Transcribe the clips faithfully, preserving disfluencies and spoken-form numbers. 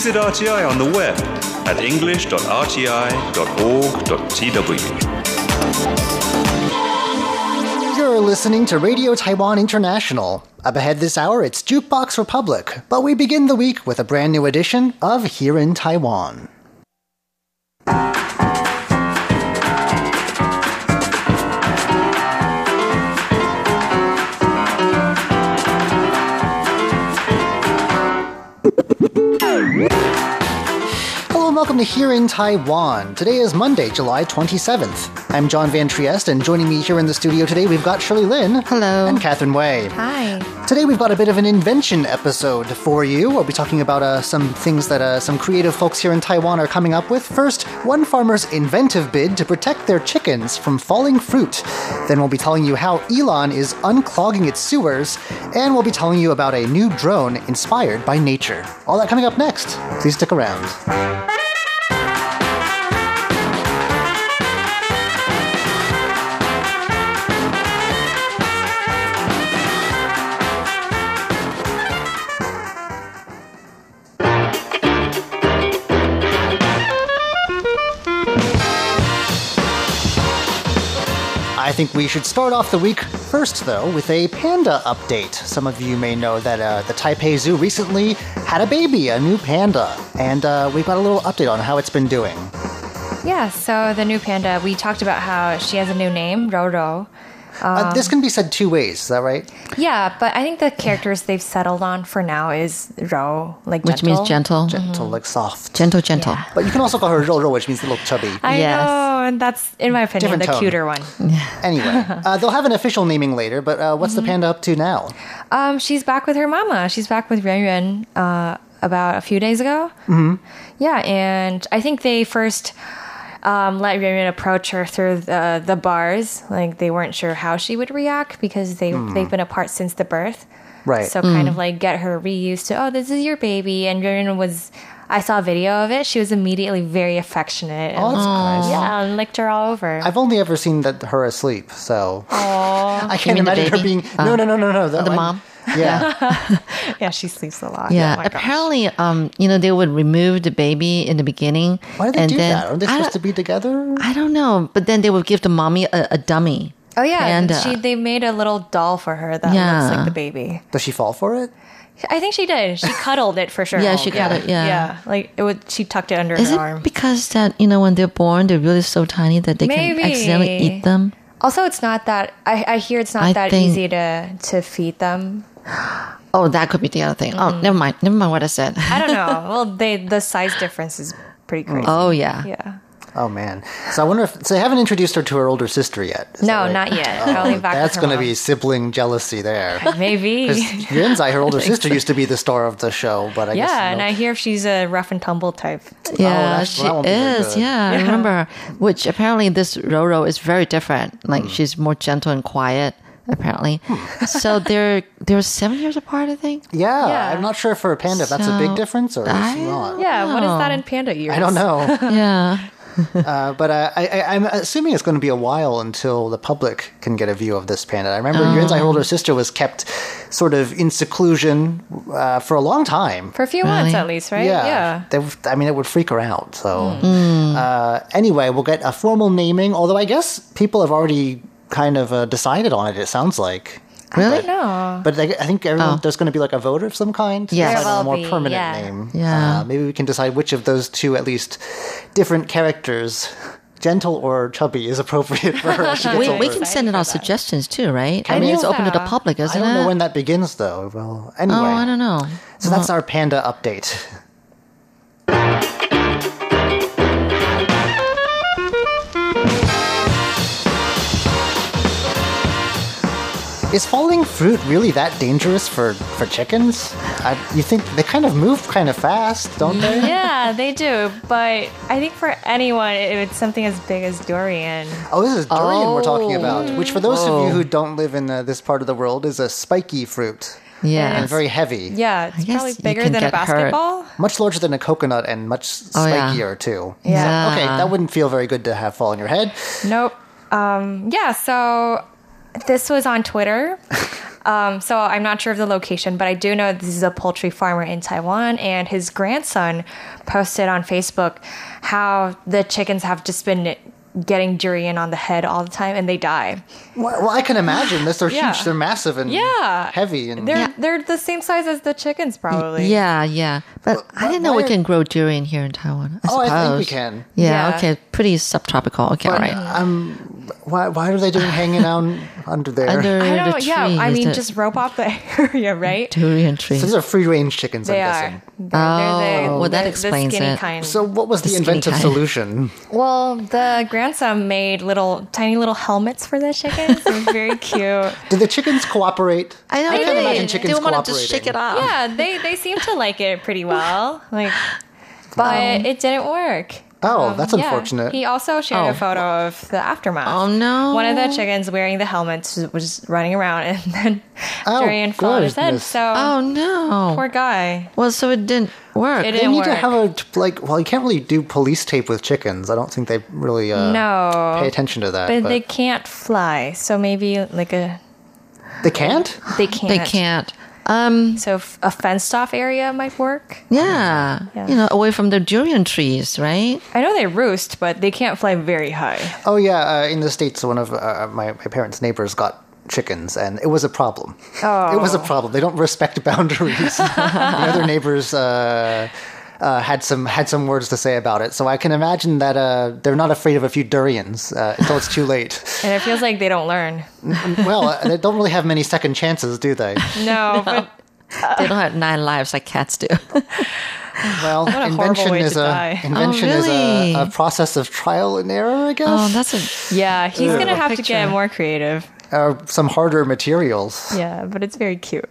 Visit R T I on the web at english dot r t i dot org dot t w. You're listening to Radio Taiwan International. Up ahead this hour, it's Jukebox Republic, but we begin the week with a brand new edition of Here in Taiwan. Hello and welcome to Here in Taiwan. Today is Monday, July twenty-seventh. I'm John Van Trieste, and joining me here in the studio today, we've got Shirley Lin. Hello. And Catherine Wei. Hi. Today we've got a bit of an invention episode for you. We'll be talking about uh, some things that uh, some creative folks here in Taiwan are coming up with. First, one farmer's inventive bid to protect their chickens from falling fruit. Then we'll be telling you how Elon is unclogging its sewers. And we'll be telling you about a new drone inspired by nature. All that coming up next. Please stick around. I think we should start off the week first, though, with a panda update. Some of you may know that uh, the Taipei Zoo recently had a baby, a new panda, and uh, we've got a little update on how it's been doing. Yeah, so the new panda, we talked about how she has a new name, Roro. Um, uh, this can be said two ways, is that right? Yeah, but I think the characters they've settled on for now is Ro, like Which gentle. means gentle. Gentle, like soft. Gentle, gentle. Yeah. But you can also call her Roro, which means a little chubby. I Yes. know, and that's, in my opinion, Different the tone. cuter one. Anyway, uh, they'll have an official naming later, but uh, what's the panda up to now? Um, she's back with her mama. She's back with Yuan Yuan uh, about a few days ago. Mm-hmm. Yeah, and I think they first um, let Yuan Yuan approach her through the, the bars. Like, they weren't sure how she would react because they, they've been apart since the birth. Right. So kind of like get her reused to, oh, this is your baby. And Yuan Yuan was, I saw a video of it. She was immediately very affectionate. Oh, And, that's nice. yeah, and licked her all over. I've only ever seen that her asleep, so I can't mean the imagine her baby? being. No, no, no, no, no. That The one- mom? Yeah. Yeah, she sleeps a lot. Yeah, Oh my gosh. apparently, um, you know, they would remove the baby in the beginning. Why do they and do then, that? Aren't they I supposed don't- to be together? I don't know, but then they would give the mommy a, a dummy. Oh yeah, And, uh, she they made a little doll for her that Yeah. looks like the baby. Does she fall for it? I think she did. She cuddled it for sure. Yeah, she cuddled- yeah. yeah. Like it would. She tucked it under Is her it arm. because that, you know, when they're born, they're really so tiny that they Maybe. can accidentally eat them? Also, it's not that. I, I hear it's not I that think- easy to to feed them. Oh, that could be the other thing. Oh, never mind. Never mind what I said. I don't know. Well, they the size difference is pretty crazy. Oh, yeah. Yeah. Oh man. So I wonder if so they haven't introduced her to her older sister yet. Is No, that right? not yet. Only back That's with her going to mom. be sibling jealousy there. Maybe. Because Yuanzai, her older sister, used to be the star of the show, but I guess Yeah, and no- I hear she's a rough and tumble type. Yeah, that's- she that won't be very is. good. Yeah, I remember. Which apparently this Roro is very different. Like she's more gentle and quiet. Apparently, so they're they're seven years apart. I think. yeah, Yeah. I'm not sure for a panda if that's a big So, difference or is I- it not. Yeah, what is Oh. that in panda years? I don't know. Yeah. Uh, but uh, I, I, I'm assuming it's going to be a while until the public can get a view of this panda. I remember Oh. Yuanzai, her older sister, was kept sort of in seclusion uh, for a long time. For a few Really? months at least, right? Yeah. They, I mean, it would freak her out. So, Hmm. uh, anyway, we'll get a formal naming, although I guess people have already kind of uh, decided on it, it sounds like. Really? No. But I, I think everyone, Oh. there's going to be like a vote of some kind. to Yes. decide There on a will more be, permanent yeah. name. Yeah. Uh, maybe we can decide which of those two, at least, different characters, gentle or chubby, is appropriate for her as she gets We, older. we can send it out suggestions too, right? I I mean, think it's open to the so. public, isn't I don't it? know when that begins, though. Well, anyway. Oh, I don't know. So that's our panda update. Is falling fruit really that dangerous for, for chickens? I, you think they kind of move kind of fast, don't they? Yeah, they do. But I think for anyone, it- it's something as big as durian. Oh, this is durian we're talking Oh. about, which for those of Whoa. you who don't live in uh, this part of the world is a spiky fruit Yeah. and very heavy. Yeah, it's guess probably you bigger can than a get hurt. basketball. Much larger than a coconut and much Oh, yeah. spikier, too. Yeah. So, okay, that wouldn't feel very good to have fall on your head. Nope. Um, yeah, so this was on Twitter. Um, so I'm not sure of the location, but I do know this is a poultry farmer in Taiwan, and his grandson posted on Facebook how the chickens have just been getting durian on the head all the time, and they die. Well, well, I can imagine this. They're Yeah. huge. They're massive and Yeah. heavy. And They're Yeah. they're the same size as the chickens, probably. Yeah, yeah. But I didn't know we why- can grow durian here in Taiwan. I Oh, I think we suppose. can. Yeah, Yeah. okay. Pretty subtropical. Okay, all right. Um, why, why are they doing hanging out under there? Under I the don't. trees. Yeah, I mean, the just rope off the area, right? durian So trees. these are free range chickens, They I'm are. guessing. They're, Oh, they're the, well, that the- explains the skinny it. kind. So what was the, skinny inventive kind. solution? Well, the grandson made little, tiny little helmets for the chickens. It was very cute. Did the chickens cooperate? I know. I can't they- imagine chickens They want to cooperating. just shake it off. Yeah, they they seem to like it pretty well. Like, but it didn't work. Oh, that's Yeah. unfortunate. He also shared Oh. a photo of the aftermath. Oh, no. One of the chickens wearing the helmet was running around, and then Oh, durian fell on his head. goodness. So Oh no. poor guy. Well, so it didn't work. It They didn't need to work. have a like. Well, you can't really do police tape with chickens. I don't think they really uh, No. pay attention to that. But But, they can't fly, so maybe like a they can't. they can't. They can't. Um. So f- a fenced off area might work. Yeah. Yeah. You know, away from the durian trees, right? I know they roost, but they can't fly very high. Oh yeah, uh, in the States, one of uh, my my parents' neighbors got chickens, and it was a problem. Oh. It was a problem. They don't respect boundaries. The other neighbors uh, uh, had some had some words to say about it, so I can imagine that uh, they're not afraid of a few durians uh, until it's too late. And it feels like they don't learn. Well, uh, they don't really have many second chances, do they? No, but They don't have nine lives like cats do. Well, a horrible invention way is to a die. invention Oh, is really? a, a process of trial and error, I guess. oh, that's a. yeah, he's Ooh. gonna have to Picture. get more creative. uh, some harder materials. Yeah, but it's very cute.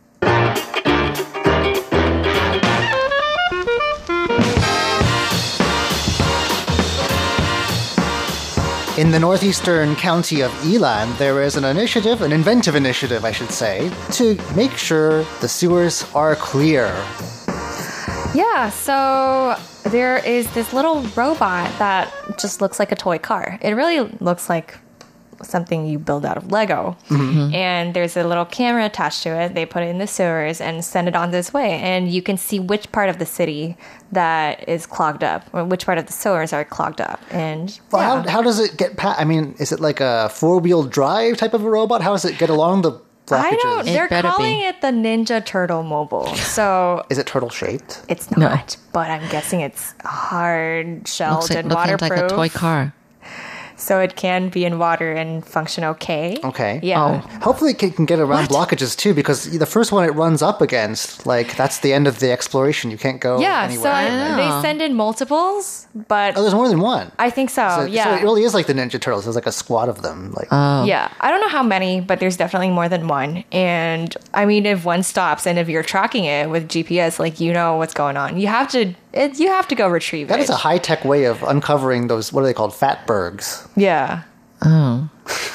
In the northeastern county of Yilan, there is an initiative, an inventive initiative, I should say, to make sure the sewers are clear. Yeah, so there is this little robot that just looks like a toy car. It really looks like something you build out of Lego. And there's a little camera attached to it. They put it in the sewers and send it on this way. And you can see which part of the city that is clogged up, or which part of the sewers are clogged up. And Well, yeah. how, how does it get past? I mean, is it like a four-wheel drive type of a robot? How does it get along the blockages? I don't. It They're better calling be. it the Ninja Turtle Mobile. So Is it turtle-shaped? it's No. not, but I'm guessing it's hard shelled Looks like, and looking waterproof. like a toy car. So it can be in water and function okay. Okay. Yeah. Oh. Hopefully it can, can get around blockages too, because the first one it runs up against, like, that's the end of the exploration. You can't go Yeah, anywhere. so I, Yeah. they send in multiples, but Oh, there's more than one. I think so. so, yeah. so it really is like the Ninja Turtles. There's like a squad of them. Like, Oh. Yeah, I don't know how many, but there's definitely more than one. And I mean, if one stops and if you're tracking it with G P S, like you know what's going on, you have to it, you have to go retrieve that it. is a high-tech way of uncovering those, what are they called, fatbergs. Yeah, Oh.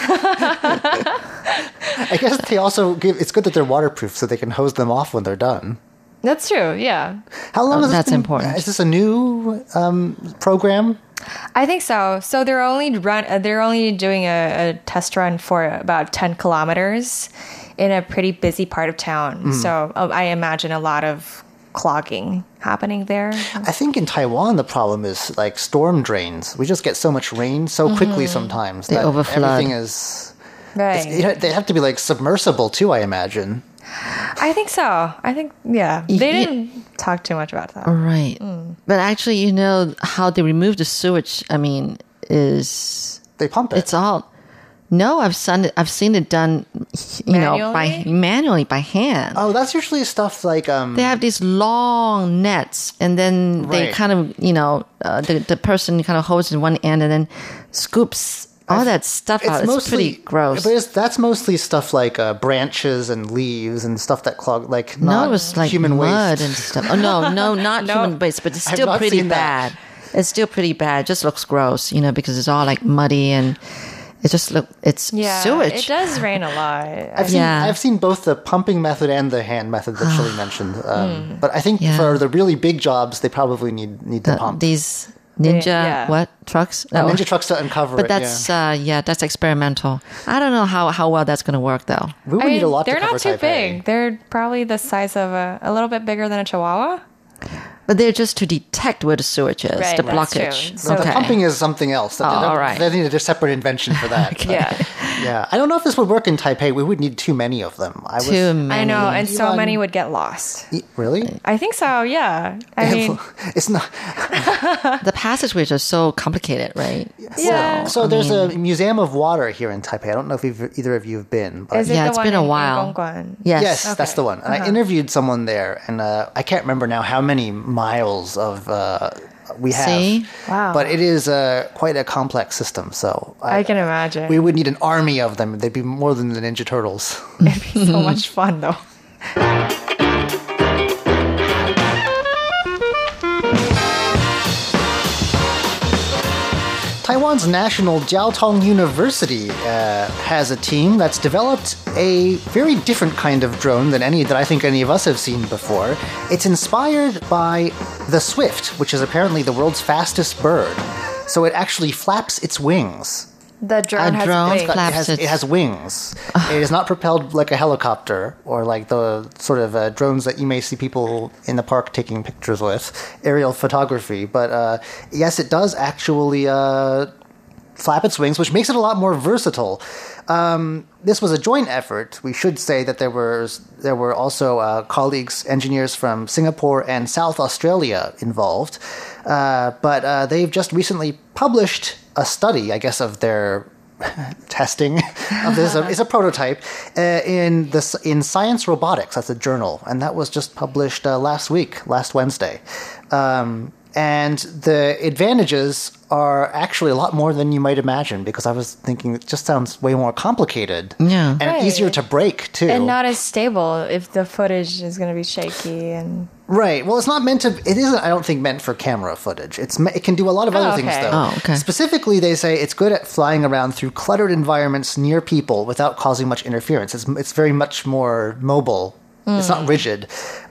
I guess they also give, it's good that they're waterproof so they can hose them off when they're done. that's true. Yeah, How long Oh, has this that's been- important. Is this a new um, program? I think so. So they're only run. uh, They're only doing a, a test run for about ten kilometers in a pretty busy part of town. Mm. So uh, I imagine a lot of clogging happening there. I think in Taiwan the problem is like storm drains. We just get so much rain so quickly sometimes They that overflood. everything is. Right. You know, they have to be like submersible too, I imagine. I think so. I think yeah. They Ye- didn't talk too much about that. Right. But actually, you know, how they remove the sewage, I mean, is They pump it. it's all. No, I've seen it. I've seen it done, you know, by Manually? manually by hand. oh, that's usually stuff like um. They have these long nets, and then they Right. kind of, you know, uh, the the person kind of holds in one end and then scoops all that stuff out. It's pretty gross. But it's, that's mostly stuff like uh, branches and leaves and stuff that clog, like No, not it was like human mud waste. and stuff. Oh no, no, not No. human waste, but it's I've still not pretty seen that. bad. It's still pretty bad. It just looks gross, you know, because it's all like muddy and it just look. It's Yeah, sewage. it does rain a lot. I've seen, Yeah. I've seen both the pumping method and the hand method that Shirley mentioned. Um, But I think Yeah. for the really big jobs, they probably need need to The- pump. these ninja yeah. what trucks? Uh, Oh. Ninja trucks to uncover But it. that's yeah. uh, yeah, that's experimental. I don't know how, how well that's going to work though. we would I need mean, a lot they're to cover not too Taipei. big. They're probably the size of a, a little bit bigger than a chihuahua. But they're just to detect where the sewage is, Right, the that's blockage. true. So the okay. pumping is something else. Oh, all right. They need a separate invention for that. Yeah. Yeah. I don't know if this would work in Taipei. We would need too many of them. I was, Too many. I know, and so Elon- many would get lost. E- Really? I think so, yeah. I mean, it's not. The passageways are so complicated, right? yeah. So there's a museum of water here in Taipei. I don't know if you've, either of you have been. But Is it Yeah, the it's one been a in- in while. Gongguan? Yes. Yes, that's the one. And I interviewed someone there, and uh, I can't remember now how many miles of uh, we have. See? Wow. But it is uh, quite a complex system. So I can imagine. we would need an army of them. They'd be more than the Ninja Turtles. It'd be so much fun, though. Taiwan's National Jiao Tong University uh, has a team that's developed a very different kind of drone than any that I think any of us have seen before. It's inspired by the Swift, which is apparently the world's fastest bird. So it actually flaps its wings. The drone A has drone wings. It flaps has, its- it has wings. It is not propelled like a helicopter or like the sort of uh, drones that you may see people in the park taking pictures with, aerial photography. But uh, yes, it does actually uh, flap its wings, which makes it a lot more versatile. Um, this was a joint effort. We should say that there were there were also uh, colleagues, engineers from Singapore and South Australia involved. Uh, but uh, they've just recently published a study, I guess, of their testing of this. It's a prototype uh, in the in Science Robotics. That's a journal, and that was just published uh, last week, last Wednesday. Um, and the advantages are actually a lot more than you might imagine, because I was thinking it just sounds way more complicated. Yeah. And Right. easier to break, too. And not as stable if the footage is going to be shaky and... Right. Well, it's not meant to. It isn't. I don't think meant for camera footage. It's. me- It can do a lot of other Oh, things, okay. though. Oh, okay. Specifically, they say it's good at flying around through cluttered environments near people without causing much interference. It's. It's very much more mobile. It's not rigid,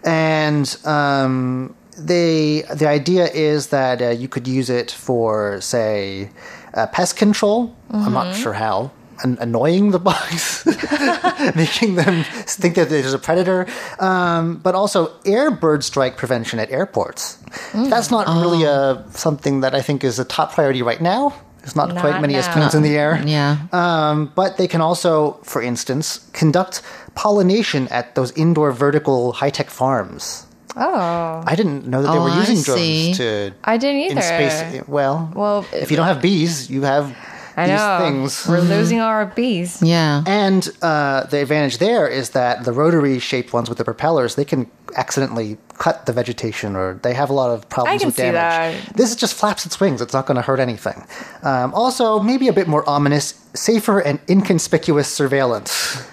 and um, they. The idea is that uh, you could use it for, say, uh, pest control. I'm not sure how. An- annoying the bugs, making them think that there's a predator, um, but also air bird strike prevention at airports. That's not really a, something that I think is a top priority right now. There's not, Not quite many now. as planes in the air. Yeah. Um, but they can also, for instance, conduct pollination at those indoor vertical high-tech farms. Oh. I didn't know that they Oh, were I using see. drones to I didn't in either. space. Well, Well, if you don't have bees, you have I these know. things. We're losing all our bees. Yeah. And uh, the advantage there is that the rotary-shaped ones with the propellers, they can accidentally cut the vegetation, or they have a lot of problems I can with see damage. that. This just flaps its wings. It's not going to hurt anything. Um, also, maybe a bit more ominous, safer and inconspicuous surveillance.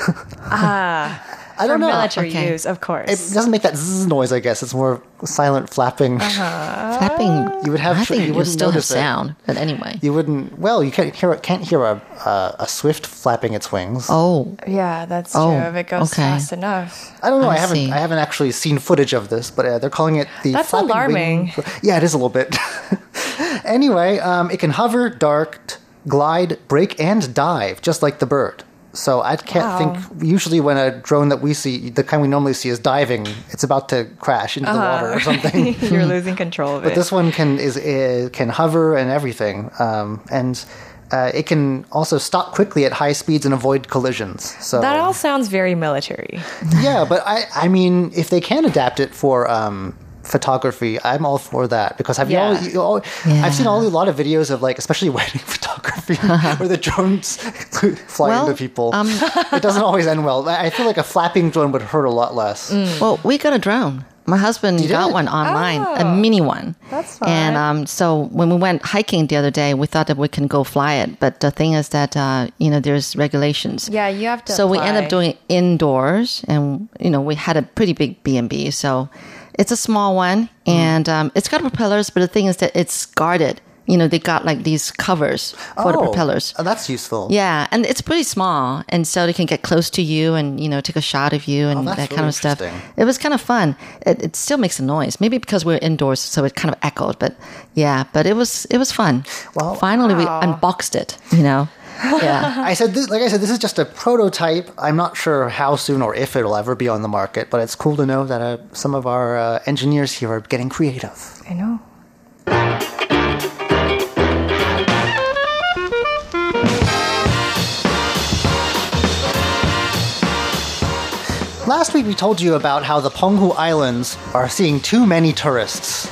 Ah. I For don't know. military Okay. use, of course. It doesn't make that zzz noise, I guess. It's more silent flapping. Flapping. You would have I to- think you you, wouldn't still have notice it. sound. But anyway. You wouldn't. Well, you can't hear. Can't hear a a, a swift flapping its wings. Oh. yeah, that's true. Oh, if it goes okay. fast enough. I don't know. I, I haven't. see. I haven't actually seen footage of this, but uh, they're calling it the. That's flapping alarming. wing- Yeah, it is a little bit. Anyway, um, it can hover, dart, glide, brake, and dive, just like the bird. So I can't Wow. think. Usually, when a drone that we see, the kind we normally see, is diving, it's about to crash into the water or something. You're losing control of But it. this one can is, is can hover and everything, um, and uh, it can also stop quickly at high speeds and avoid collisions. So that all sounds very military. yeah, but I I mean, if they can adapt it for um, photography, I'm all for that, because have Yeah. you all, you all Yeah. I've seen all a lot of videos of, like, especially wedding photography where the drones fly Well, into people. um, it doesn't always end well. I feel like a flapping drone would hurt a lot less. Mm. Well, we got a drone. My husband You got did? one online, Oh. a mini one. That's And fun. um, so when we went hiking the other day, we thought that we can go fly it. But the thing is that, uh, you know, there's regulations. Yeah, you have to So we end apply. up doing it indoors, and, you know, we had a pretty big B and B. So it's a small one, and um, it's got propellers, but the thing is that it's guarded You know, they got like these covers for the Oh, propellers. uh, that's useful. Yeah, and it's pretty small, and so they can get close to you and, you know, take a shot of you and Oh, that's that kind really of stuff. interesting. It was kind of fun. It, it still makes a noise, maybe because we're indoors, so it kind of echoed. But yeah, but it was it was fun. Well, finally we unboxed it. You know, yeah. I said, this, like I said, this is just a prototype. I'm not sure how soon or if it'll ever be on the market, but it's cool to know that uh, some of our uh, engineers here are getting creative. I know. Last week we told you about how the Penghu Islands are seeing too many tourists.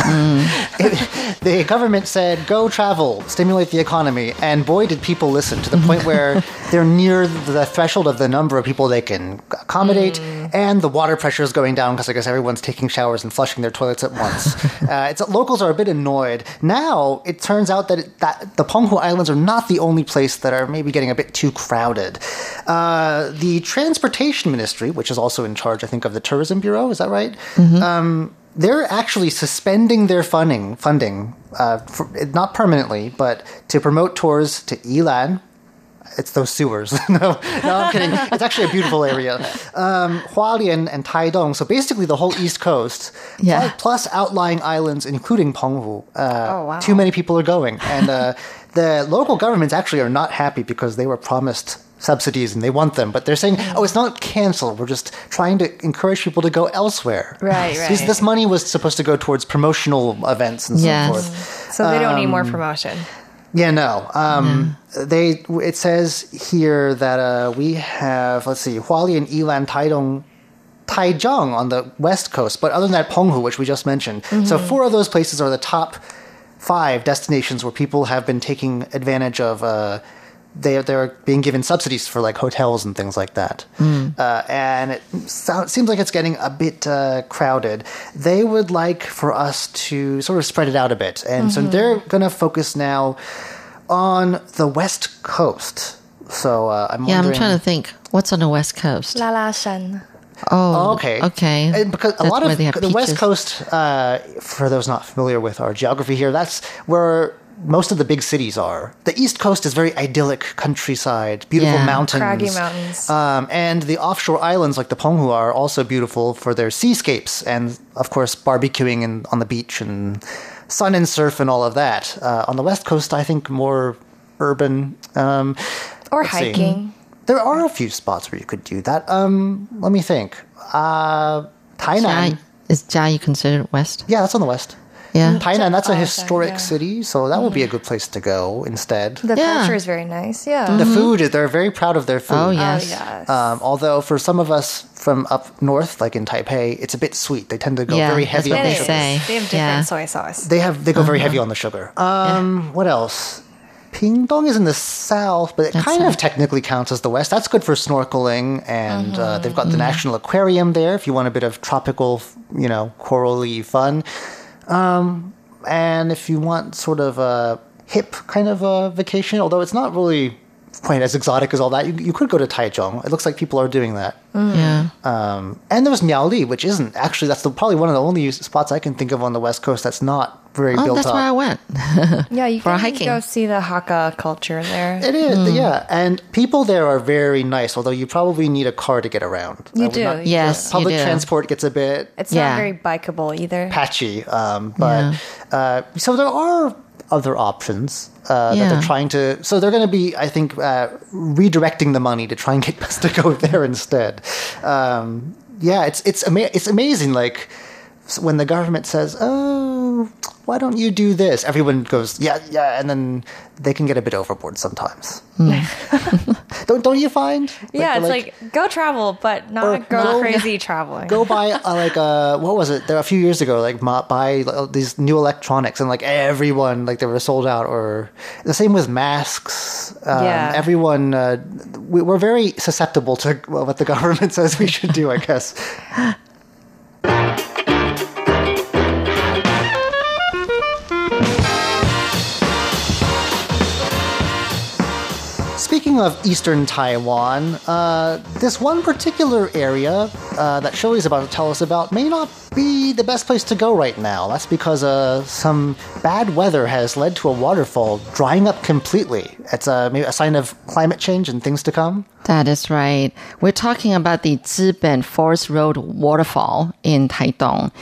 It, the government said, go travel, stimulate the economy, and boy did people listen, to the point where they're near the threshold of the number of people they can accommodate, and the water pressure is going down because I guess everyone's taking showers and flushing their toilets at once. uh, it's, locals are a bit annoyed. Now, it turns out that, it, that the Penghu Islands are not the only place that are maybe getting a bit too crowded. Uh, the Transportation Ministry, which is also in charge, I think, of the Tourism Bureau, is that right? Mm-hmm. Um, they're actually suspending their funding, funding uh, for, not permanently, but to promote tours to Yilan. It's those sewers. no, no, I'm kidding. It's actually a beautiful area. Um, Hualien and Taidong, so basically the whole East Coast, Yeah. plus, plus outlying islands, including Penghu. Uh, Oh, wow. Too many people are going. And uh, the local governments actually are not happy because they were promised subsidies and they want them, but they're saying, oh, it's not canceled. We're just trying to encourage people to go elsewhere. Right, So right. This, this money was supposed to go towards promotional events and Yes. so forth. So they don't need more promotion. Yeah, no. Um, They. It says here that uh, we have, let's see, Hualien, Yilan, Taidong, Taichung on the west coast, but other than that, Penghu, which we just mentioned. So four of those places are the top five destinations where people have been taking advantage of. Uh, they they're being given subsidies for like hotels and things like that, uh, and it so, seems like it's getting a bit uh, crowded. They would like for us to sort of spread it out a bit, and so they're going to focus now on the west coast. So uh, I'm Yeah, I'm wondering. trying to think. What's on the West Coast? La La Shan. Oh, Okay. Okay. And because a That's lot where of they have the West peaches. Coast, uh, for those not familiar with our geography here, that's where most of the big cities are. The East Coast is very idyllic countryside, beautiful Yeah. mountains. Craggy mountains. Um, and the offshore islands like the Penghu are also beautiful for their seascapes and, of course, barbecuing and on the beach and sun and surf and all of that. Uh, on the West Coast, I think more urban. Um, Or let's see. hiking. There are a few spots where you could do that. Um, let me think. Uh, Tainan. Jia, is Jia considered West? Yeah, that's on the west. Yeah. Tainan, that's a Oh, sorry, historic yeah. city, so that would be a good place to go instead. The Yeah. culture is very nice. Yeah. The food, they're very proud of their food. Oh, Oh, yes. yes. Um, although for some of us from up north, like in Taipei, it's a bit sweet. They tend to go Yeah, very that's heavy what on It the they is. sugar. say. They have different Yeah. soy sauce. They have they go very heavy on the sugar. Um, What else? Pingdong is in the south, but it That's kind of south. technically counts as the west. That's good for snorkeling, and uh, they've got the National Aquarium there if you want a bit of tropical, you know, corally fun. Um, and if you want sort of a hip kind of a vacation, although it's not really quite as exotic as all that, you, you could go to Taichung. It looks like people are doing that. Yeah. Um, and there's Miaoli, which isn't actually, that's the, probably one of the only spots I can think of on the west coast that's not very Oh, built that's up. where I went. Yeah, you For can hiking. go see the Hakka culture there. It is, yeah. And people there are very nice, although you probably need a car to get around. You I would do, not- you Yes, you Public do. transport gets a bit It's Yeah. not very bikeable either. patchy. Um, but uh, so there are other options uh, that Yeah. they're trying to. So they're going to be, I think, uh, redirecting the money to try and get us to go there instead. Um, yeah, it's it's ama- it's amazing. Like s- when the government says, "Oh, why don't you do this?" Everyone goes, "Yeah, yeah," and then they can get a bit overboard sometimes. don't don't you find? Yeah, they're it's like, go travel, but Or not go go- crazy traveling. go buy uh, like uh what was it there a few years ago like ma- buy like, these new electronics and like everyone like they were sold out, or the same with masks. Um, Yeah. everyone uh, we, we're very susceptible to well, what the government says we should do, I guess. Speaking speaking of eastern Taiwan, uh, this one particular area uh, that Shirley's about to tell us about may not be the best place to go right now. That's because uh, some bad weather has led to a waterfall drying up completely. It's a, maybe a sign of climate change and things to come. That is right. We're talking about the Ziben Forest Road waterfall in Taitung.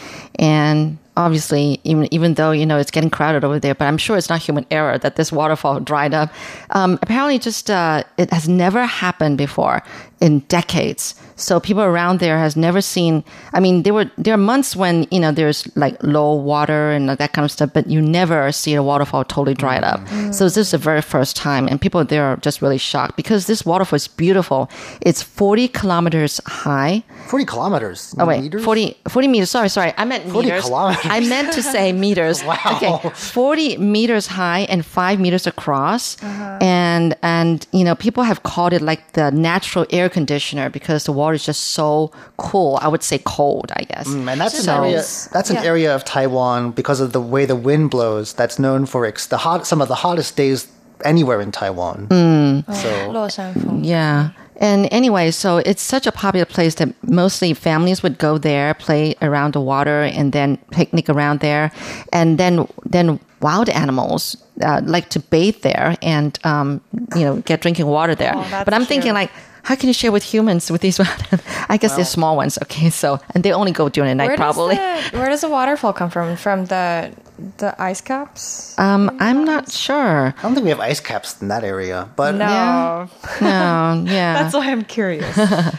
And obviously, even even though, you know, it's getting crowded over there, but I'm sure it's not human error that this waterfall dried up. Um, apparently, just uh, it has never happened before in decades. So people around there has never seen. I mean, there were there are months when, you know, there's like low water and that kind of stuff, but you never see a waterfall totally dried up. Mm. So this is the very first time, and people there are just really shocked because this waterfall is beautiful. It's forty kilometers high. forty kilometers. Oh wait, meters? forty, forty meters. Sorry, sorry. I meant forty meters. kilometers. I meant to say meters. Wow. Okay, forty meters high and five meters across, uh-huh. and and you know people have called it like the natural air conditioner because the water is just so cool. I would say cold, I guess. Mm, and that's So- an area. That's an Yeah. area of Taiwan because of the way the wind blows. That's known for ex- the hot. Some of the hottest days anywhere in Taiwan. Mm. So 落山风. Yeah. And anyway, so it's such a popular place that mostly families would go there, play around the water, and then picnic around there. And then then wild animals uh, like to bathe there and, um, you know, get drinking water there. Oh, that's but I'm thinking cute. like, how can you share with humans with these? I guess they're small ones. Okay, so and they only go during the night Where does, probably. the, where does the waterfall come from? From the the ice caps? Um, I'm not sure. I don't think we have ice caps in that area, but No. Yeah. No, yeah. That's why I'm curious.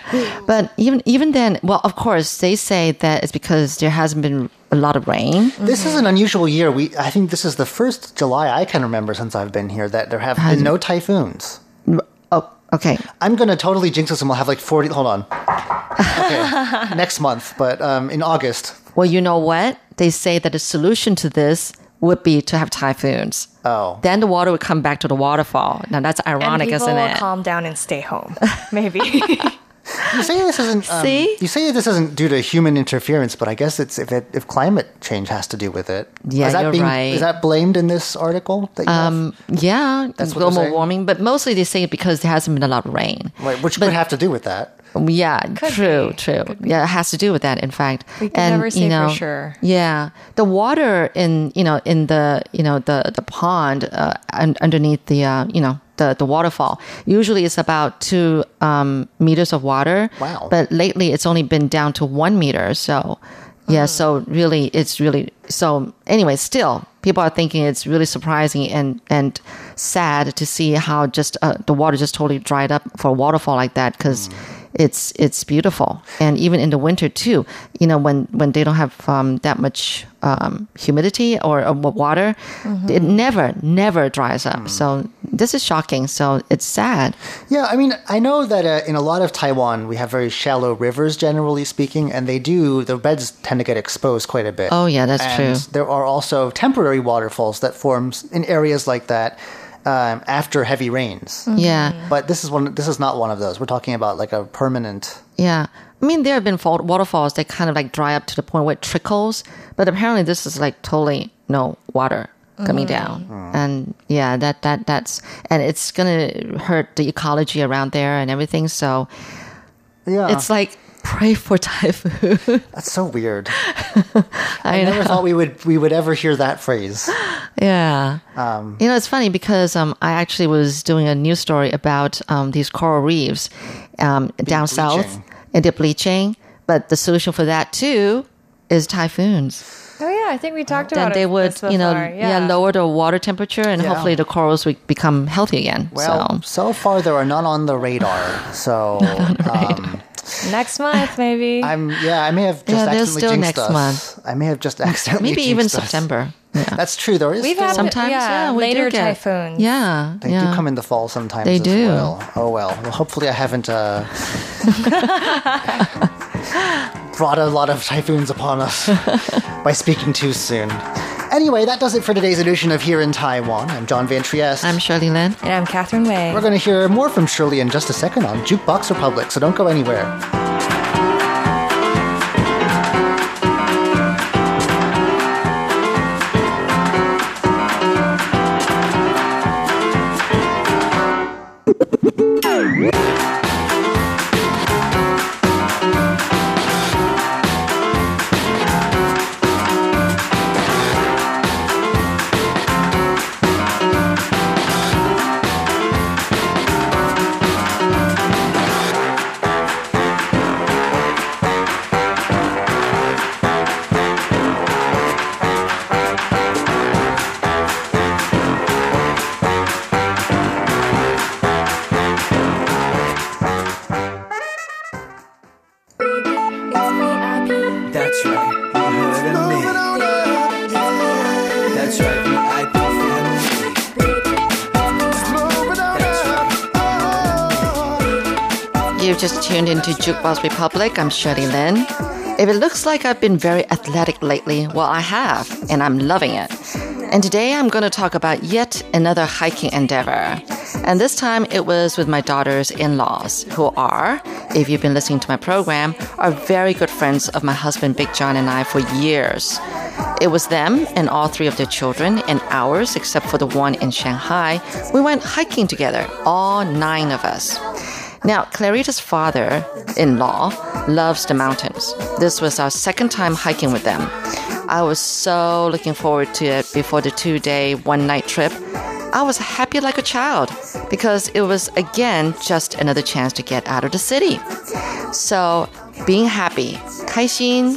But even even then, well, of course, they say that it's because there hasn't been a lot of rain. this is an unusual year. We I think this is the first July I can remember since I've been here that there have been no typhoons. Oh, okay. I'm going to totally jinx us and we'll have like forty. Hold on. Okay. Next month, but um, in August. Well, you know what? They say that the solution to this would be to have typhoons. Oh. Then the water would come back to the waterfall. Now that's And ironic, people isn't will it? calm down and stay home. Maybe. You say this isn't. Um, See? You say this isn't due to human interference, but I guess it's if it, if climate change has to do with it. Yeah, is that you're being, right. Is that blamed in this article? That you have? Um, yeah, That's what they're global saying? warming, but mostly they say because there hasn't been a lot of rain. Right, which could have to do with that. Yeah, true, be. true. Yeah, it has to do with that. In fact, We can and, never say you for know, sure. Yeah, the water in you know in the you know the the pond uh, un- underneath the uh, you know the the waterfall usually is about two um, meters of water. Wow. But lately it's only been down to one meter. So yeah, so really it's really so. Anyway, still people are thinking it's really surprising and and sad to see how just uh, the water just totally dried up for a waterfall like that because. It's it's beautiful, and even in the winter too. You know, when, when they don't have um, that much um, humidity or, or water, it never never dries up. So this is shocking. So it's sad. Yeah, I mean, I know that uh, in a lot of Taiwan, we have very shallow rivers, generally speaking, and they do, the beds tend to get exposed quite a bit. Oh, yeah, that's and true. There are also temporary waterfalls that form in areas like that um, after heavy rains. Yeah, But this is one. This is not one of those. We're talking about like a permanent. yeah. I mean, there have been fall- waterfalls that kind of like dry up to the point where it trickles, but apparently this is like totally no water coming down, and yeah, that that that's and it's gonna hurt the ecology around there and everything. So Yeah, it's like pray for typhoon. that's so weird. I I never know. thought we would we would ever hear that phrase. Yeah. Um, You know, it's funny because um, I actually was doing a news story about um, these coral reefs um, down south bleaching. and they're bleaching. But the solution for that too is typhoons. Oh yeah, I think we talked Then about they it would, this you know, before. yeah. lower the water temperature and Yeah. hopefully the corals would become healthy again. well, so so far there are none on the radar. So um, Next month, maybe. I'm yeah, I may have just Yeah, there's accidentally still jinxed next us. month. I may have just accidentally maybe even jinxed us. September. Yeah. That's true. There is We've still, had Sometimes, yeah, yeah, we later do get, typhoons. Yeah, they yeah. do come in the fall sometimes. They as do. Well. Oh well. Well, hopefully I haven't uh, brought a lot of typhoons upon us by speaking too soon. Anyway, that does it for today's edition of Here in Taiwan. I'm John Van Trieste. I'm Shirley Lin. And I'm Catherine Wei. We're going to hear more from Shirley in just a second on Jukebox Republic, so don't go anywhere. just tuned into Jukebox Republic. I'm Shirley Lin. If it looks like I've been very athletic lately, well, I have, and I'm loving it. And today I'm going to talk about yet another hiking endeavor. And this time it was with my daughter's in-laws, who are, if you've been listening to my program, are very good friends of my husband Big John and I for years. It was them and all three of their children and ours, except for the one in Shanghai. We went hiking together, all nine of us. Now, Clarita's father-in-law loves the mountains. This was our second time hiking with them. I was so looking forward to it before the two-day, one-night trip. I was happy like a child because it was, again, just another chance to get out of the city. So, being happy, 开心.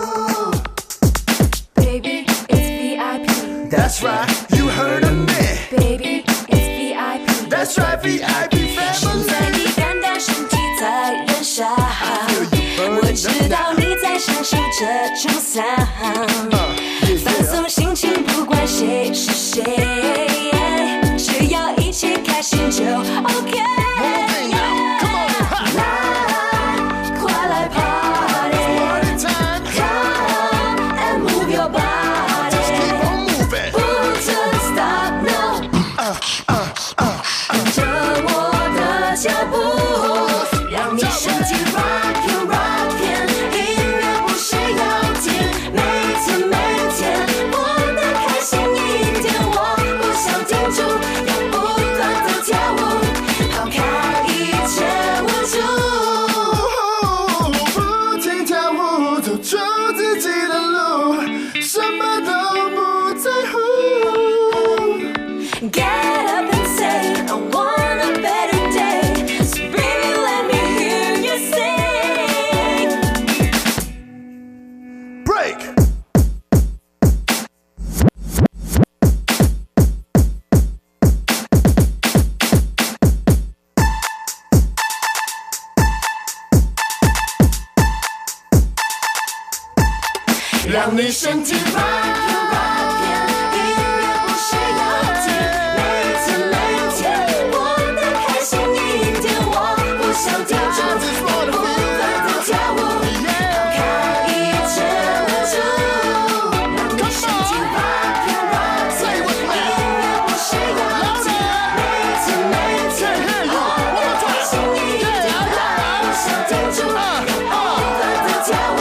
Baby, it's V I P. That's right, you heard of me. Baby, it's V I P. That's right, V I P 现在 family. 你单单身体在燃烧，我知道你在享受这种伤，放松心情，不管谁是谁，只要一起开心就 OK。让你身体 rock rock， 音乐不需要停，每天每天过得开心一点，我不想停住，不断地跳舞，抛开一切无助，让你身体 rock rock， 音乐不需要停，每天每天过得开心一点，我不想停住，不断地跳舞。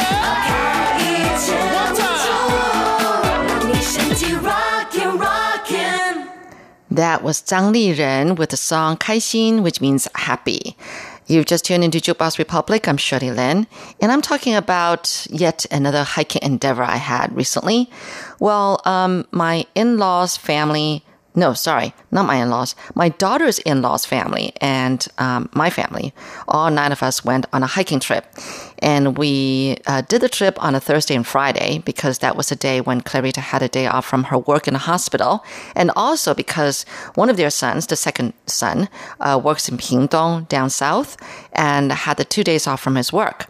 That was Zhang Liren with the song 开心, which means happy. You've just tuned into Jukebox Republic. I'm Shirley Lin, and I'm talking about yet another hiking endeavor I had recently. Well, um, my in-laws family... No, sorry, not my in-laws. My daughter's in-laws family and um, my family, all nine of us went on a hiking trip. And we uh, did the trip on a Thursday and Friday because that was the day when Clarita had a day off from her work in the hospital. And also because one of their sons, the second son, uh, works in Pingdong down south and had the two days off from his work.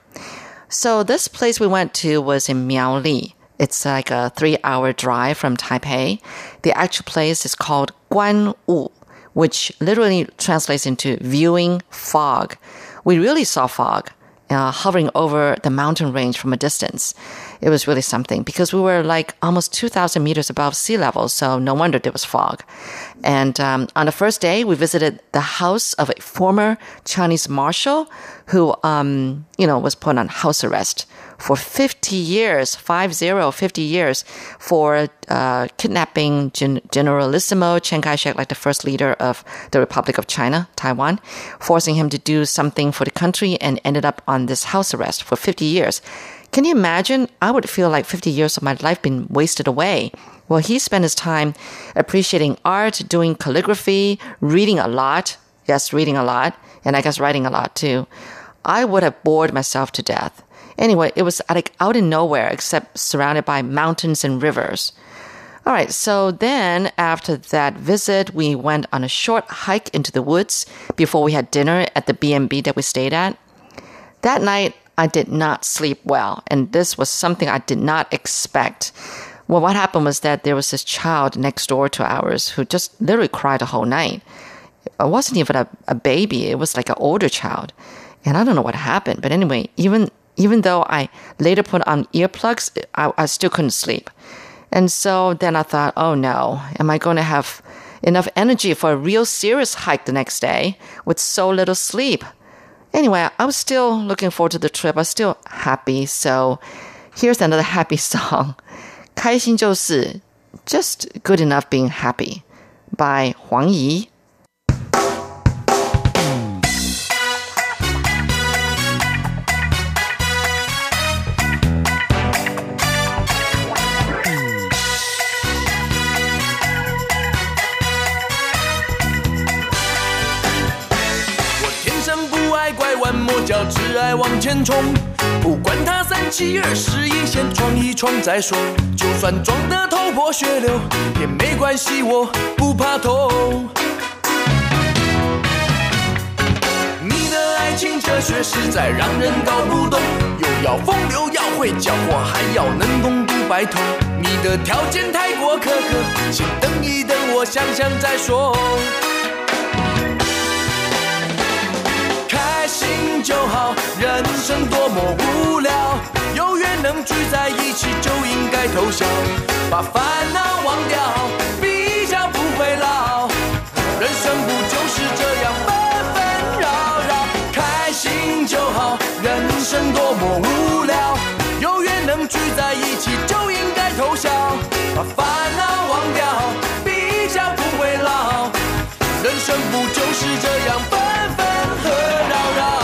So this place we went to was in Miaoli. It's like a three-hour drive from Taipei. The actual place is called Guanwu, which literally translates into viewing fog. We really saw fog uh, hovering over the mountain range from a distance. It was really something because we were like almost two thousand meters above sea level, so no wonder there was fog. And um, on the first day, we visited the house of a former Chinese marshal who, um, you know, was put on house arrest for fifty years, five zero, fifty years, for uh, kidnapping Gen- Generalissimo Chiang Kai-shek, like the first leader of the Republic of China, Taiwan, forcing him to do something for the country and ended up on this house arrest for fifty years. Can you imagine? I would feel like fifty years of my life been wasted away. Well, he spent his time appreciating art, doing calligraphy, reading a lot. Yes, reading a lot. And I guess writing a lot too. I would have bored myself to death. Anyway, it was like out in nowhere except surrounded by mountains and rivers. All right, so then after that visit, we went on a short hike into the woods before we had dinner at the B and B that we stayed at. That night, I did not sleep well, and this was something I did not expect. Well, what happened was that there was this child next door to ours who just literally cried the whole night. It wasn't even a, a baby. It was like an older child. And I don't know what happened. But anyway, even even though I later put on earplugs, I, I still couldn't sleep. And so then I thought, oh no, am I going to have enough energy for a real serious hike the next day with so little sleep? Anyway, I was still looking forward to the trip. I was still happy. So here's another happy song. 开心就是 Just Good Enough Being Happy by 黄怡。 磨脚只爱往前冲，不管他三七二十一，先闯一闯再说。就算撞得头破血流也没关系，我不怕痛。你的爱情哲学实在让人搞不懂，又要风流要会搅和，还要能共度白头。你的条件太过苛刻，请等一等，我想想再说。开心就好，人生多么无聊，有缘能聚在一起就应该偷笑，把烦恼忘掉，比较不会老。人生不就是这样纷纷扰扰？开心就好，人生多么无聊，有缘能聚在一起就应该偷笑，把烦恼忘掉，比较不会老。人生不就是这样纷纷和扰扰？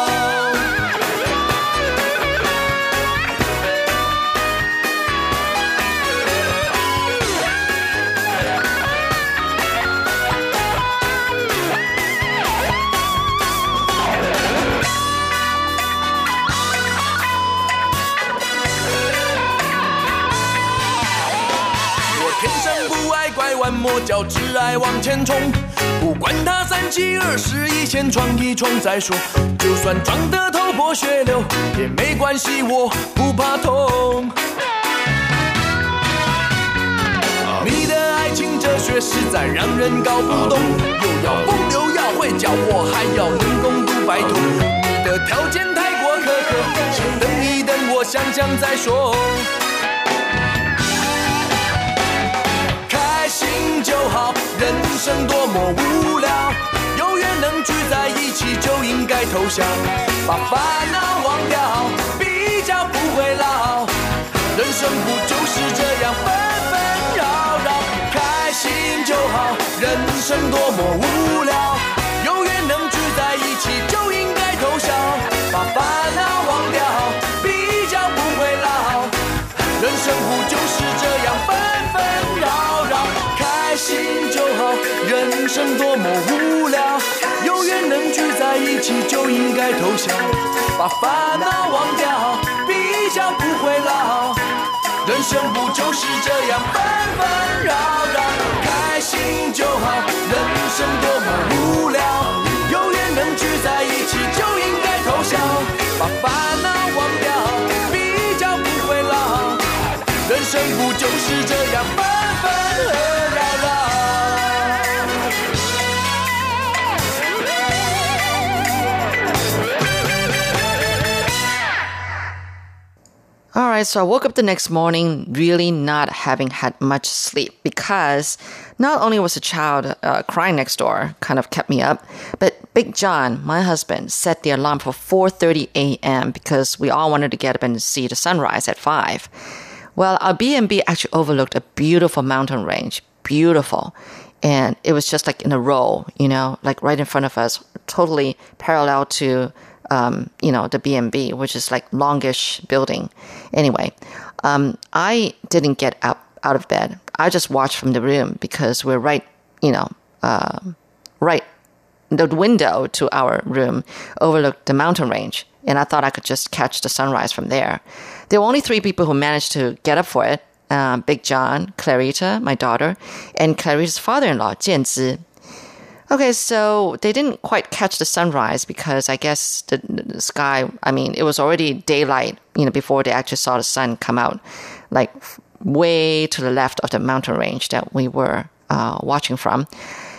我天生不爱拐弯抹角，只爱往前冲。不管他三七二十一，先闯一闯再说。就算撞得头破血流也没关系，我不怕痛。你的爱情哲学实在让人搞不懂，又要风流要会搅和，还要能共度白头。你的条件太过苛刻，先等一等，我想想再说。开心就好，人生多么无聊，有缘能聚在一起就应该偷笑，把烦恼忘掉，比较不会老。人生不就是这样纷纷扰扰？开心就好，人生多么无聊，有缘能聚在一起就应该偷笑，把烦恼忘掉，比较不会老。人生不就是这样纷纷扰扰？开心就好，人生多么无聊，有缘能聚在一起就应该偷笑，把烦恼忘掉，比较不会老。人生不就是这样纷纷扰扰？开心就好，人生多么无聊，有缘能聚在一起就应该偷笑，把烦恼忘掉，比较不会老。人生不就是这样纷纷扰扰？ All right, so I woke up the next morning really not having had much sleep because not only was a child uh, crying next door, kind of kept me up, but Big John, my husband, set the alarm for four thirty a.m. because we all wanted to get up and see the sunrise at five. Well, our B and B actually overlooked a beautiful mountain range, beautiful. And it was just like in a row, you know, like right in front of us, totally parallel to Um, you know, the B and B, which is like longish building. Anyway, um, I didn't get up out of bed. I just watched from the room because we're right, you know, uh, right, the window to our room overlooked the mountain range. And I thought I could just catch the sunrise from there. There were only three people who managed to get up for it. Uh, Big John, Clarita, my daughter, and Clarita's father-in-law, Jianzi. Okay, so they didn't quite catch the sunrise because I guess the, the sky, I mean, it was already daylight, you know, before they actually saw the sun come out, like way to the left of the mountain range that we were uh, watching from.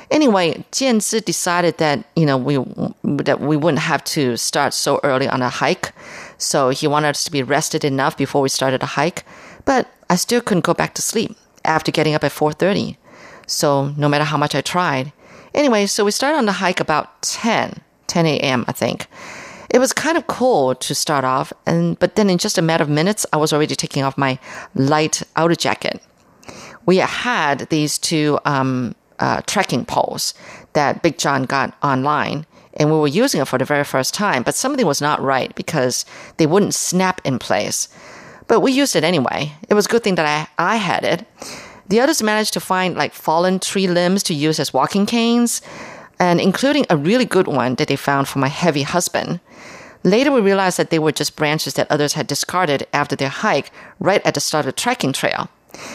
Anyway, Jianzi decided that, you know, we that we wouldn't have to start so early on a hike. So he wanted us to be rested enough before we started a hike. But I still couldn't go back to sleep after getting up at four thirty. So no matter how much I tried. Anyway, so we started on the hike about ten a.m., I think. It was kind of cold to start off, and but then in just a matter of minutes, I was already taking off my light outer jacket. We had these two um, uh, trekking poles that Big John got online, and we were using it for the very first time, but something was not right because they wouldn't snap in place. But we used it anyway. It was a good thing that I, I had it. The others managed to find like fallen tree limbs to use as walking canes, and including a really good one that they found for my heavy husband. Later, we realized that they were just branches that others had discarded after their hike right at the start of the trekking trail.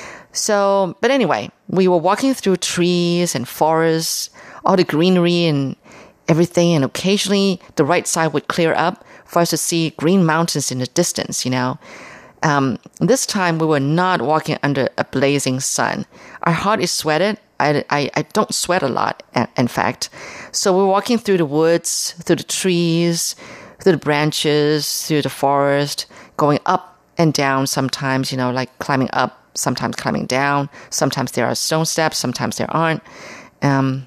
So, but anyway, we were walking through trees and forests, all the greenery and everything, and occasionally the right side would clear up for us to see green mountains in the distance, you know. Um, this time, we were not walking under a blazing sun. Our heart is sweated. I, I, I don't sweat a lot, in fact. So we're walking through the woods, through the trees, through the branches, through the forest, going up and down sometimes, you know, like climbing up, sometimes climbing down. Sometimes there are stone steps, sometimes there aren't. Um,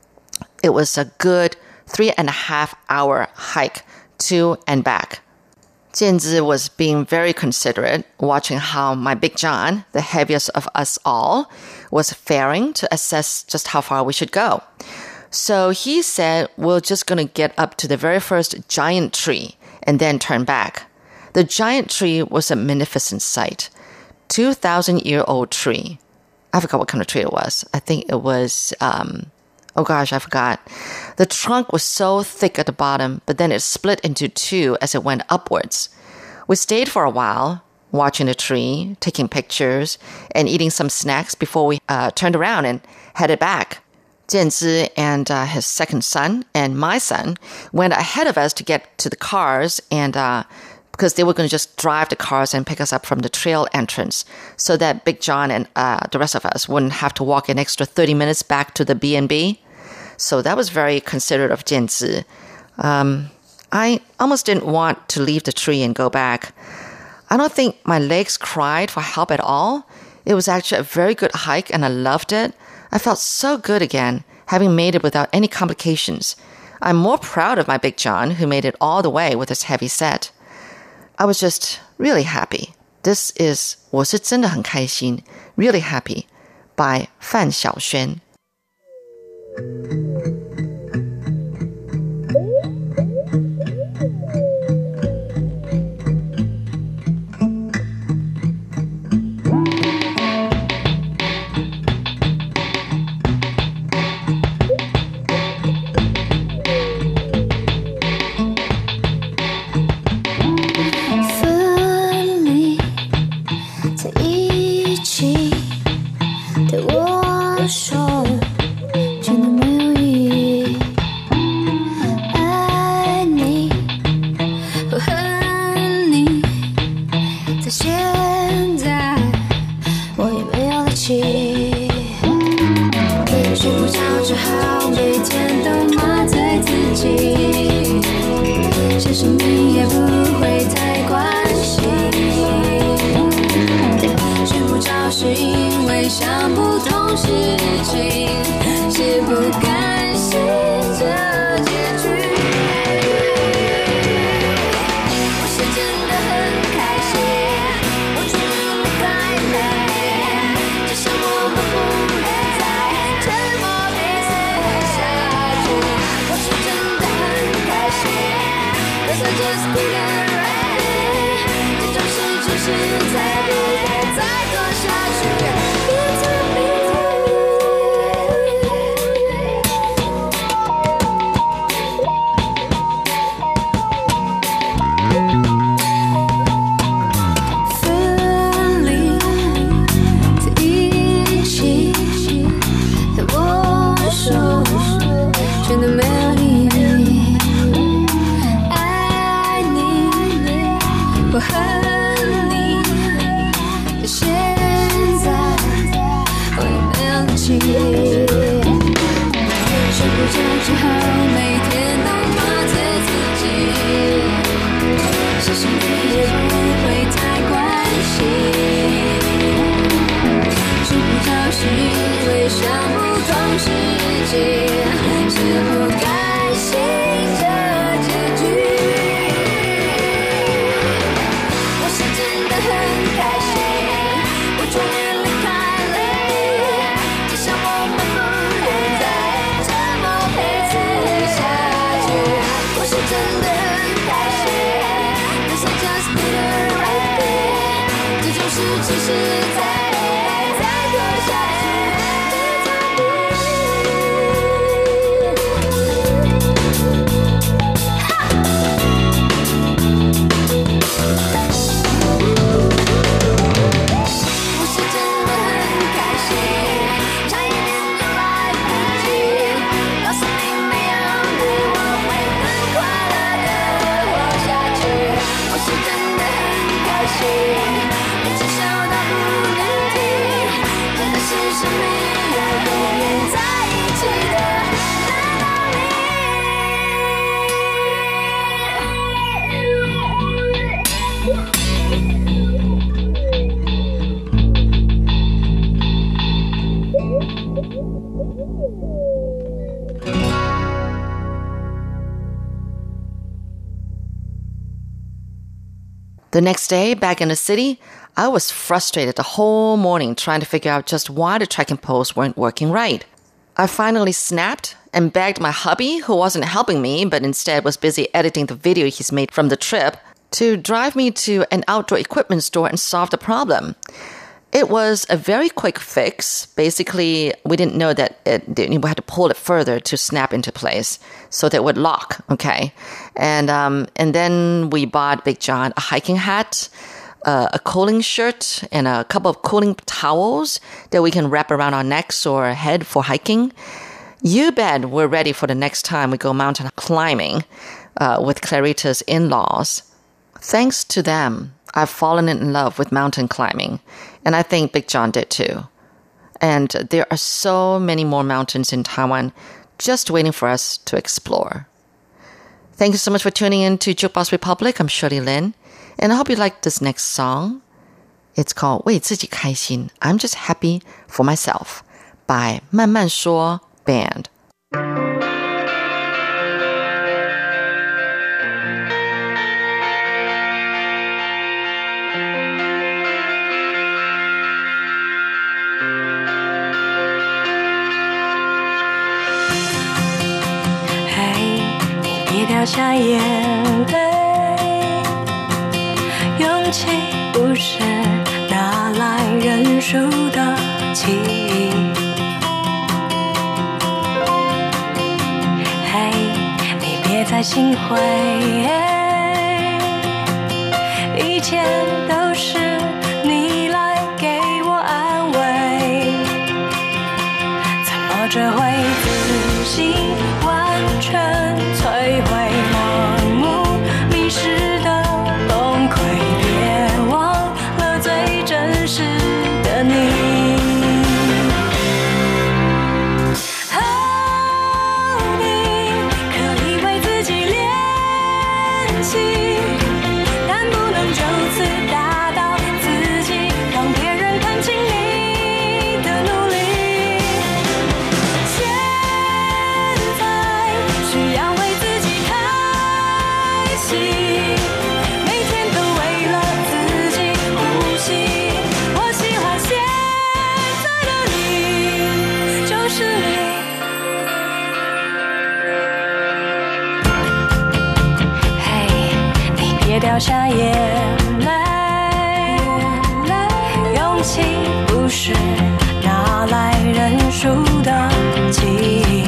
it was a good three and a half hour hike to and back. Jianzi was being very considerate, watching how my Big John, the heaviest of us all, was faring to assess just how far we should go. So he said, we're just going to get up to the very first giant tree and then turn back. The giant tree was a magnificent sight. two thousand year old tree. I forgot what kind of tree it was. I think it was, um, oh gosh, I forgot. The trunk was so thick at the bottom, but then it split into two as it went upwards. We stayed for a while, watching the tree, taking pictures, and eating some snacks before we uh, turned around and headed back. Jianzi and uh, his second son and my son went ahead of us to get to the cars, and uh, because they were going to just drive the cars and pick us up from the trail entrance so that Big John and uh, the rest of us wouldn't have to walk an extra thirty minutes back to the B and B. So that was very considerate of Jianzi. Um, I almost didn't want to leave the tree and go back. I don't think my legs cried for help at all. It was actually a very good hike and I loved it. I felt so good again, having made it without any complications. I'm more proud of my Big John, who made it all the way with his heavy set. I was just really happy. This is 我是真的很开心, really happy, by Fan Xiaoxuan. 只好每天都麻醉自己，是幸福也不会太关心，睡不着是因为想不通世界是不甘心这结局。我是真的很开心，我终于离开了，只想我们不能再这么彼此下去。我是真的很开心， This I just did the right thing， 这种事其实再再多下去 The next day, back in the city, I was frustrated the whole morning trying to figure out just why the tracking posts weren't working right. I finally snapped and begged my hubby, who wasn't helping me but instead was busy editing the video he's made from the trip, to drive me to an outdoor equipment store and solve the problem. It was a very quick fix. Basically, we didn't know that it, we had to pull it further to snap into place so that it would lock, okay? And um, and then we bought Big John a hiking hat, uh, a cooling shirt, and a couple of cooling towels that we can wrap around our necks or head for hiking. You bet we're ready for the next time we go mountain climbing uh, with Clarita's in-laws. Thanks to them, I've fallen in love with mountain climbing, and I think Big John did too. And there are so many more mountains in Taiwan just waiting for us to explore. Thank you so much for tuning in to Jukebox Republic. I'm Shirley Lin, and I hope you like this next song. It's called 为自己开心 I'm Just Happy for Myself by 慢慢说 Band. Hey, 你别掉下眼泪，勇气不是拿来认输的记忆。嘿，你别再心灰，以前都是你来给我安慰，怎么这回自信完全摧毁，盲目迷失的崩溃，别忘了最真实的你。掉下眼泪，勇气不是拿来认输的记忆。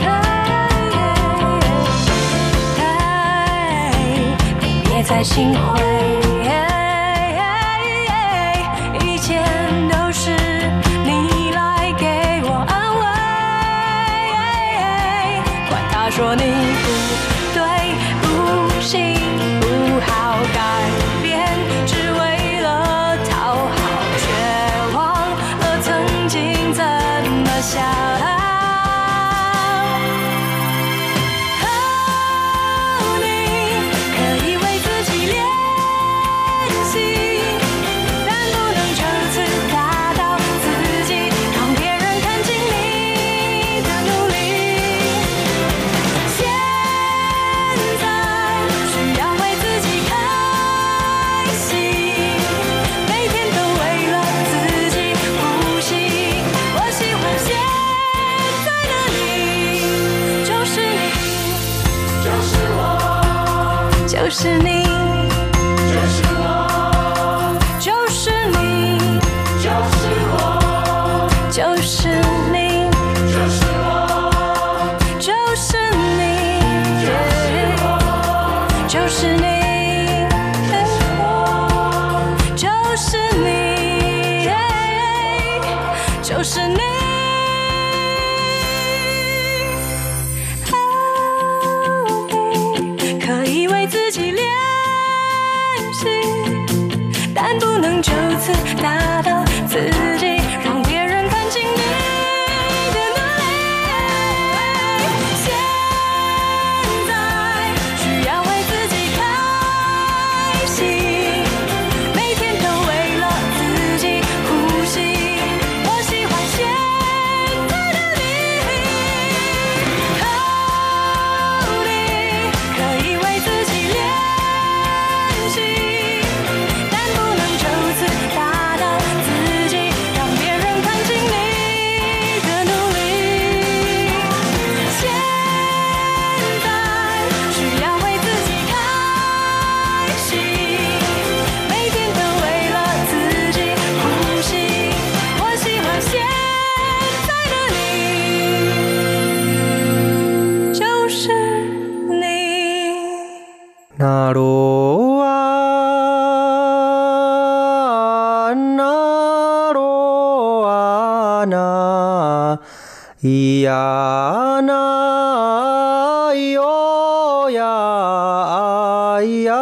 你别再心灰，以前都是你来给我安慰，管他说你不对不行不好改变，只为了讨好，却忘了曾经怎么想。 就是你。可以为自己练习，但不能就此打倒自己，让别人看清你的努力。现在需要为自己开心，每天都为了自己呼吸。我喜欢现在的你，哦，你可以为自己练习，但不能就此打倒自己，让别人看清你的努力。现在需要为自己开心，每天都为了自己呼吸。我喜欢现在的你，就是你。 なろあなろあないやないよやいや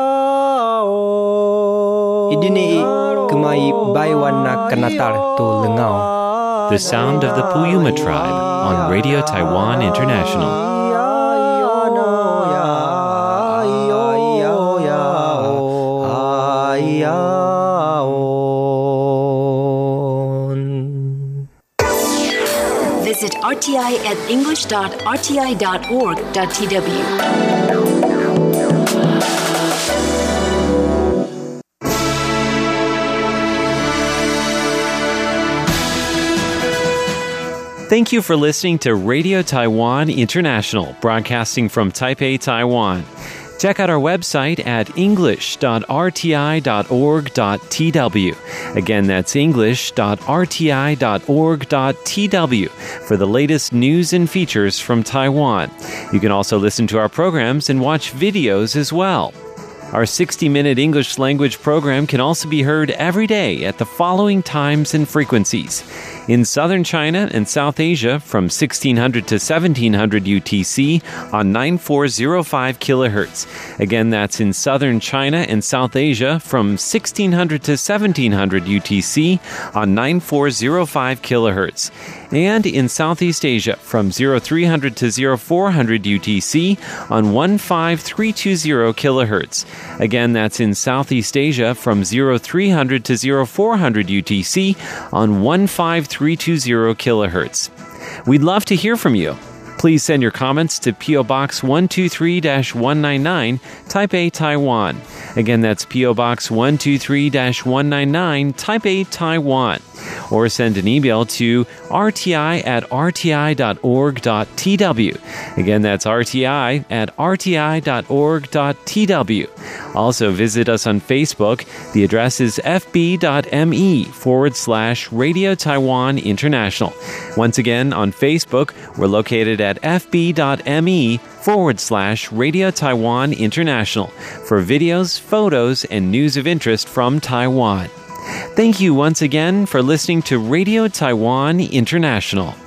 o idini kemai baiwana kanatar to lengau. The sound of the Puyuma tribe on Radio Taiwan International. Visit R T I at english dot r t i dot org dot t w. Thank you for listening to Radio Taiwan International, broadcasting from Taipei, Taiwan. Check out our website at english dot r t i dot org dot t w. Again, that's english dot r t i dot org dot t w for the latest news and features from Taiwan. You can also listen to our programs and watch videos as well. Our sixty-minute English language program can also be heard every day at the following times and frequencies. In southern China and South Asia from sixteen hundred to seventeen hundred U T C on nine four zero five kilohertz. Again, that's in southern China and South Asia from sixteen hundred to seventeen hundred U T C on nine four zero five kilohertz. And in Southeast Asia from three hundred to four hundred U T C on one five three two zero kilohertz. Again, that's in Southeast Asia from three hundred to four hundred U T C on one five three two zero kilohertz. We'd love to hear from you. Please send your comments to P O Box one two three dash one nine nine, Taipei, Taiwan. Again, that's P O Box one two three dash one nine nine, Taipei, Taiwan. Or send an email to r t i at r t i dot org dot t w. Again, that's r t i at r t i dot org dot t w. Also, visit us on Facebook. The address is fb.me forward slash Radio Taiwan International. Once again, on Facebook, we're located at fb.me forward slash Radio Taiwan International for videos, photos, and news of interest from Taiwan. Thank you once again for listening to Radio Taiwan International.